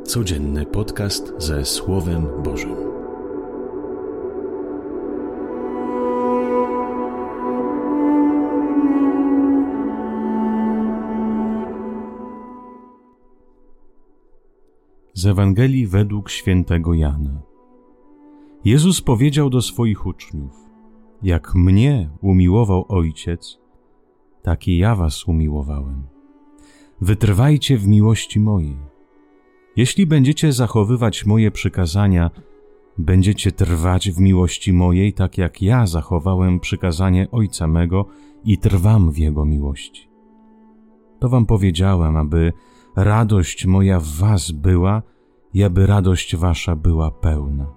Codzienny podcast ze Słowem Bożym. Z Ewangelii według świętego Jana. Jezus powiedział do swoich uczniów: jak mnie umiłował Ojciec, tak i ja was umiłowałem. Wytrwajcie w miłości mojej. Jeśli będziecie zachowywać moje przykazania, będziecie trwać w miłości mojej, tak jak ja zachowałem przykazanie Ojca mego i trwam w Jego miłości. To wam powiedziałem, aby radość moja w was była i aby radość wasza była pełna.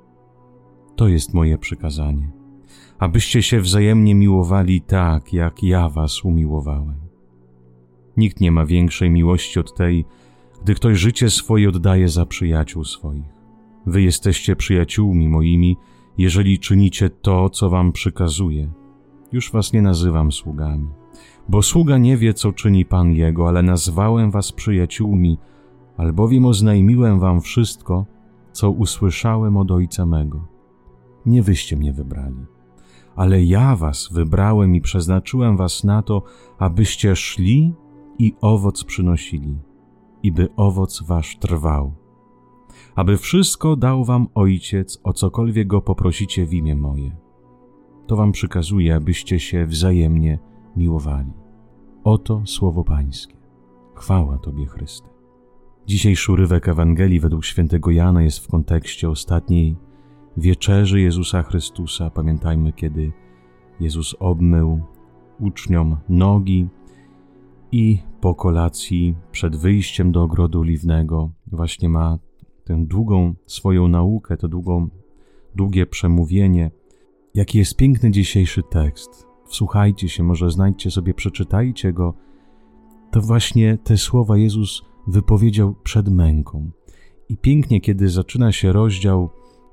To jest moje przykazanie, abyście się wzajemnie miłowali tak, jak ja was umiłowałem. Nikt nie ma większej miłości od tej, gdy ktoś życie swoje oddaje za przyjaciół swoich. Wy jesteście przyjaciółmi moimi, jeżeli czynicie to, co wam przykazuję. Już was nie nazywam sługami, bo sługa nie wie, co czyni Pan jego, ale nazwałem was przyjaciółmi, albowiem oznajmiłem wam wszystko, co usłyszałem od Ojca mego. Nie wyście mnie wybrali, ale ja was wybrałem i przeznaczyłem was na to, abyście szli i owoc przynosili, i by owoc wasz trwał, aby wszystko dał wam Ojciec, o cokolwiek go poprosicie w imię moje. To wam przykazuję, abyście się wzajemnie miłowali. Oto słowo Pańskie. Chwała Tobie, Chryste. Dzisiejszy urywek Ewangelii według świętego Jana jest w kontekście ostatniej wieczerzy Jezusa Chrystusa. Pamiętajmy, kiedy Jezus obmył uczniom nogi i po kolacji przed wyjściem do ogrodu oliwnego właśnie ma tę długą swoją naukę, to długie przemówienie. Jaki jest piękny dzisiejszy tekst. Wsłuchajcie się, może znajdźcie sobie, przeczytajcie go. To właśnie te słowa Jezus wypowiedział przed męką. I pięknie, kiedy zaczyna się rozdział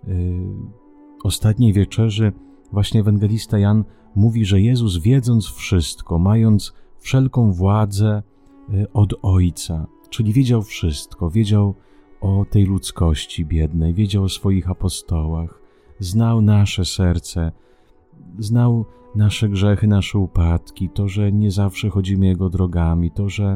ostatniej wieczerzy, właśnie ewangelista Jan mówi, że Jezus, wiedząc wszystko, mając wszelką władzę od Ojca, czyli wiedział wszystko, wiedział o tej ludzkości biednej, wiedział o swoich apostołach, znał nasze serce, znał nasze grzechy, nasze upadki, to, że nie zawsze chodzimy Jego drogami, to, że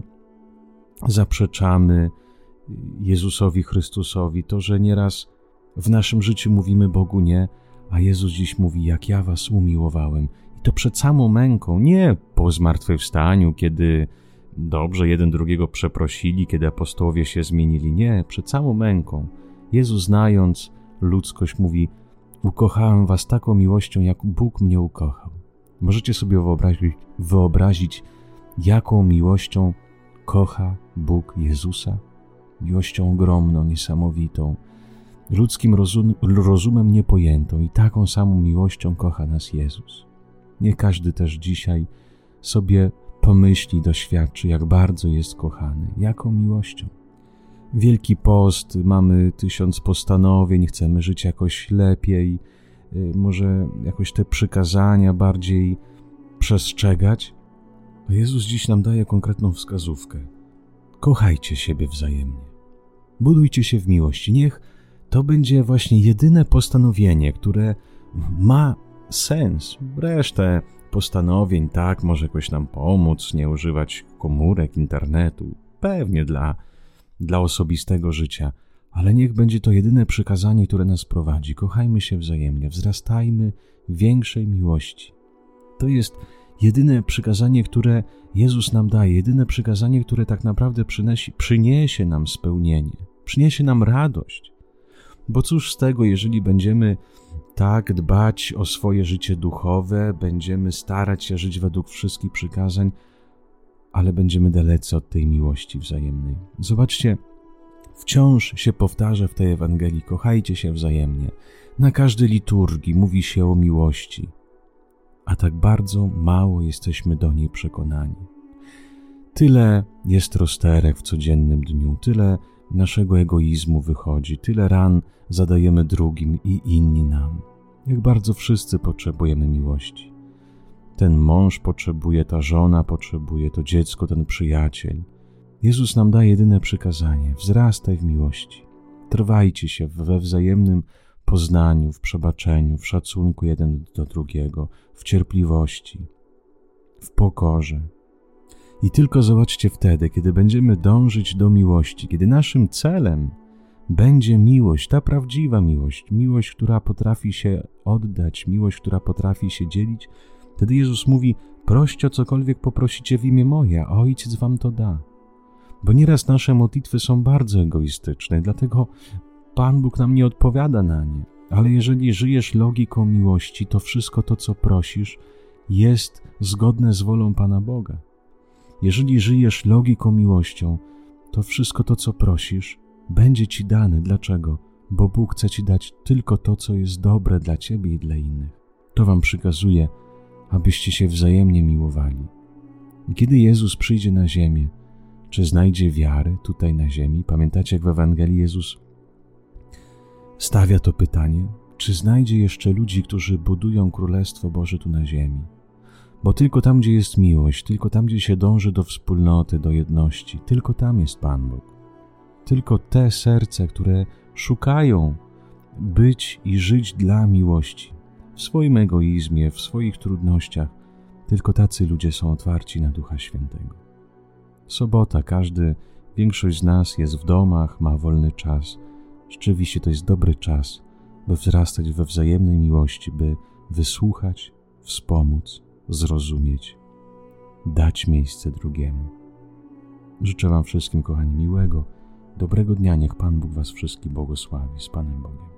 zaprzeczamy Jezusowi Chrystusowi, to, że nieraz w naszym życiu mówimy Bogu nie, a Jezus dziś mówi, jak ja was umiłowałem. I to przed samą męką, nie po zmartwychwstaniu, kiedy dobrze jeden drugiego przeprosili, kiedy apostołowie się zmienili. Nie, przed samą męką. Jezus, znając ludzkość, mówi, ukochałem was taką miłością, jak Bóg mnie ukochał. Możecie sobie wyobrazić, jaką miłością kocha Bóg Jezusa? Miłością ogromną, niesamowitą, ludzkim rozumem niepojętą, i taką samą miłością kocha nas Jezus. Niech każdy też dzisiaj sobie pomyśli, doświadczy, jak bardzo jest kochany, jaką miłością. Wielki Post, mamy 1000 postanowień, chcemy żyć jakoś lepiej, może jakoś te przykazania bardziej przestrzegać. A Jezus dziś nam daje konkretną wskazówkę. Kochajcie siebie wzajemnie. Budujcie się w miłości. Niech to będzie właśnie jedyne postanowienie, które ma sens. Resztę postanowień, tak, może jakoś nam pomóc, nie używać komórek, internetu, pewnie dla osobistego życia, ale niech będzie to jedyne przykazanie, które nas prowadzi. Kochajmy się wzajemnie, wzrastajmy w większej miłości. To jest jedyne przykazanie, które Jezus nam daje, jedyne przykazanie, które tak naprawdę przyniesie nam spełnienie, przyniesie nam radość. Bo cóż z tego, jeżeli będziemy tak dbać o swoje życie duchowe, będziemy starać się żyć według wszystkich przykazań, ale będziemy dalecy od tej miłości wzajemnej. Zobaczcie, wciąż się powtarza w tej Ewangelii, kochajcie się wzajemnie. Na każdej liturgii mówi się o miłości, a tak bardzo mało jesteśmy do niej przekonani. Tyle jest rozterek w codziennym dniu, tyle naszego egoizmu wychodzi, tyle ran zadajemy drugim i inni nam. Jak bardzo wszyscy potrzebujemy miłości. Ten mąż potrzebuje, ta żona potrzebuje, to dziecko, ten przyjaciel. Jezus nam daje jedyne przykazanie: wzrastaj w miłości. Trwajcie się we wzajemnym poznaniu, w przebaczeniu, w szacunku jeden do drugiego, w cierpliwości, w pokorze. I tylko zobaczcie wtedy, kiedy będziemy dążyć do miłości, kiedy naszym celem będzie miłość, ta prawdziwa miłość, która potrafi się oddać, miłość, która potrafi się dzielić, wtedy Jezus mówi: proście o cokolwiek poprosicie w imię moje, a Ojciec wam to da. Bo nieraz nasze modlitwy są bardzo egoistyczne, dlatego Pan Bóg nam nie odpowiada na nie. Ale jeżeli żyjesz logiką miłości, to wszystko to, co prosisz, jest zgodne z wolą Pana Boga. Jeżeli żyjesz logiką miłością, to wszystko to, co prosisz, będzie ci dane. Dlaczego? Bo Bóg chce ci dać tylko to, co jest dobre dla ciebie i dla innych. To wam przykazuje, abyście się wzajemnie miłowali. I kiedy Jezus przyjdzie na ziemię, czy znajdzie wiarę tutaj na ziemi? Pamiętacie, jak w Ewangelii Jezus stawia to pytanie? Czy znajdzie jeszcze ludzi, którzy budują Królestwo Boże tu na ziemi? Bo tylko tam, gdzie jest miłość, tylko tam, gdzie się dąży do wspólnoty, do jedności, tylko tam jest Pan Bóg. Tylko te serca, które szukają być i żyć dla miłości, w swoim egoizmie, w swoich trudnościach, tylko tacy ludzie są otwarci na Ducha Świętego. Sobota, większość z nas jest w domach, ma wolny czas. Rzeczywiście to jest dobry czas, by wzrastać we wzajemnej miłości, by wysłuchać, wspomóc, zrozumieć, dać miejsce drugiemu. Życzę wam wszystkim, kochani, miłego, dobrego dnia. Niech Pan Bóg was wszystkich błogosławi. Z Panem Bogiem.